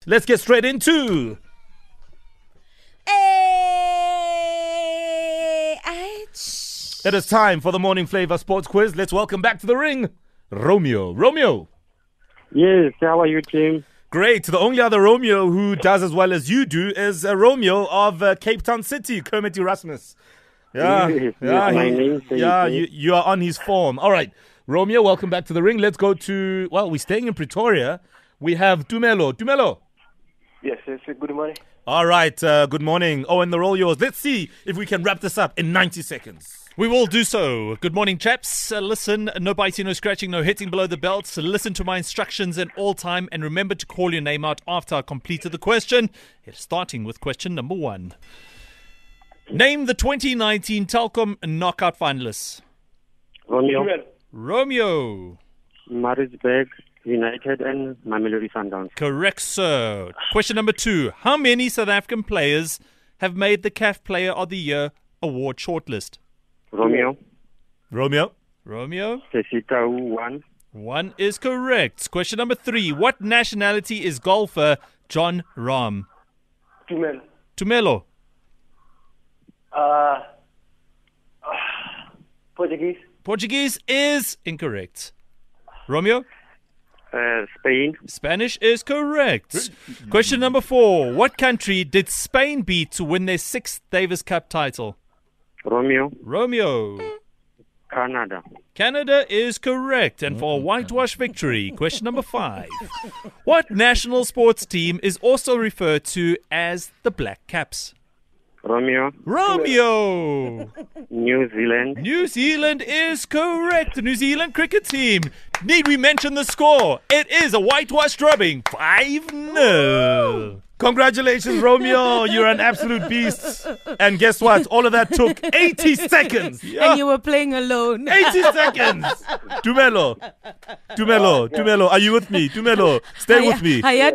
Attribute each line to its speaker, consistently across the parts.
Speaker 1: Let's get straight into. It is time for the Morning Flavor Sports Quiz. Let's welcome back to the ring, Romeo. Romeo.
Speaker 2: Yes, how are you, Tim?
Speaker 1: Great. The only other Romeo who does as well as you do is Romeo of Cape Town City, Kermit Erasmus.
Speaker 2: Yes, my name.
Speaker 1: You are on his form. All right, Romeo, welcome back to the ring. Let's go to, we're staying in Pretoria. We have Tumelo. Tumelo.
Speaker 3: Yes, good morning.
Speaker 1: All right, good morning. Oh, and they're all yours. Let's see if we can wrap this up in 90 seconds.
Speaker 4: We will do so. Good morning, chaps. Listen, no biting, no scratching, no hitting below the belt. Listen to my instructions in all time and remember to call your name out after I completed the question. It's starting with question number 1. Name the 2019 Telkom knockout finalists. Romeo.
Speaker 2: Maritzburg United and Mamelodi Sundowns.
Speaker 4: Correct, sir. Question number 2. How many South African players have made the CAF Player of the Year award shortlist?
Speaker 2: Romeo. Sesita 1.
Speaker 4: 1 is correct. Question number 3. What nationality is golfer Jon Rahm? Tumelo.
Speaker 3: Portuguese.
Speaker 4: Portuguese is incorrect. Romeo?
Speaker 2: Spain.
Speaker 4: Spanish is correct. Question number 4. What country did Spain beat to win their 6th Davis Cup title?
Speaker 2: Romeo. Canada.
Speaker 4: Canada is correct. And for a whitewash victory, question number 5. What national sports team is also referred to as the Black Caps?
Speaker 2: Romeo. New Zealand.
Speaker 4: New Zealand is correct. The New Zealand cricket team. Need we mention the score? It is a whitewash drubbing. 5-0.
Speaker 1: Congratulations, Romeo. You're an absolute beast. And guess what? All of that took 80 seconds.
Speaker 5: And you were playing alone.
Speaker 1: 80 seconds. Tumelo. Are you with me? Tumelo, stay with me. Stay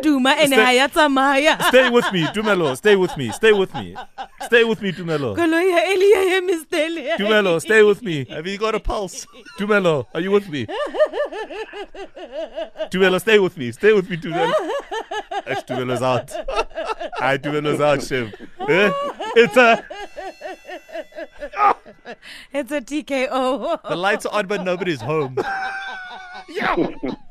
Speaker 1: with me, Tumelo. Stay with me, Tumelo. Tumelo, stay with me.
Speaker 4: Have you got a pulse?
Speaker 1: Tumelo, are you with me? Tumelo, stay with me, Tumelo. Tumelo's out. Tumelo's out, Shiv.
Speaker 5: It's a TKO.
Speaker 4: The lights are on, but nobody's home.
Speaker 1: Yeah.